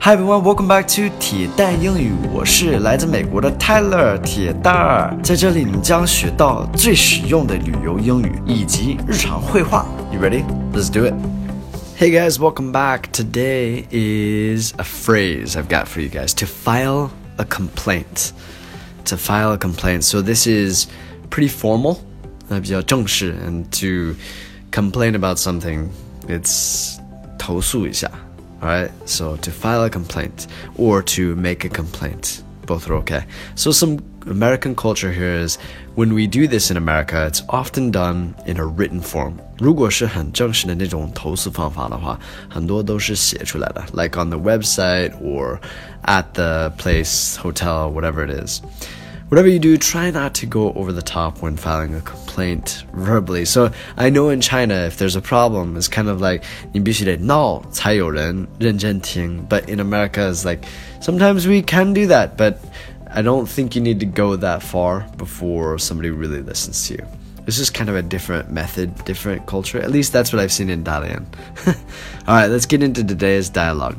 Hi everyone, welcome back to 铁蛋英语，我是来自美国的 Tyler 铁蛋儿，在这里你将学到最实用的旅游英语以及日常会话。You ready? Let's do it. Hey guys, welcome back. Today is a phrase I've got for you guys. To file a complaint. To file a complaint. So this is pretty formal, 比较正式 and to complain about something, it's 投诉一下。Alright, so to file a complaint or to make a complaint, both are okay. So some American culture here is when we do this in America, it's often done in a written form. 如果是很正式的那种投诉方法的话，很多都是写出来的 like on the website or at the place, hotel, whatever it is.Whatever you do, try not to go over the top when filing a complaint verbally. So I know in China, if there's a problem, it's kind of like 你必须得闹才有人认真听. But in America, it's like sometimes we can do that, but I don't think you need to go that far before somebody really listens to you. It's just kind of a different method, different culture. At least that's what I've seen in Dalian. All right, let's get into today's dialogue.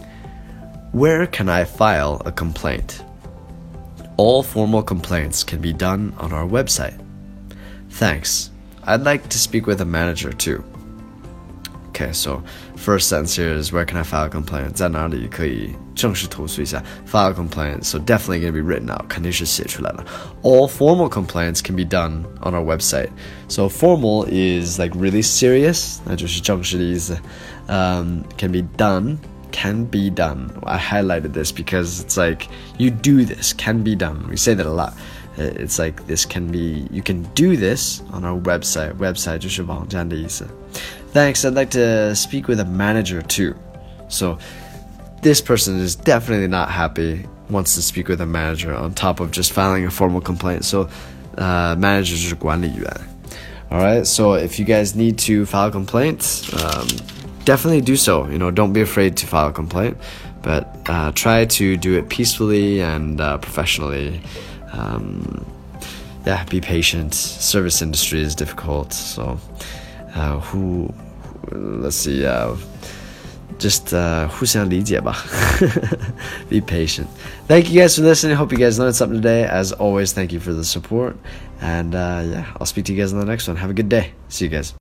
Where can I file a complaint?All formal complaints can be done on our website. Thanks. I'd like to speak with a manager too. Okay, so first sentence here is where can I file a complaint? 在哪里可以正式投诉一下 File a complaint, so definitely going to be written out. 肯定是写出来的 All formal complaints can be done on our website. So formal is like really serious. 那就是正式的意思 can be done.Can be done. I highlighted this because it's like you do this, can be done. We say that a lot. It's like this can be, you can do this on our website. Website 就是网站的意思. Thanks, I'd like to speak with a manager too. So this person is definitely not happy, wants to speak with a manager on top of just filing a formal complaint. So manager 就是管理员. Alright, so if you guys need to file a complaint, definitely do so. Don't be afraid to file a complaint, but try to do it peacefully and professionally. Be patient. Service industry is difficult, so let's see, just 互相理解吧. Be patient. Thank you guys for listening. Hope you guys learned something today. As always, thank you for the support, and I'll speak to you guys in the next one. Have a good day. See you guys.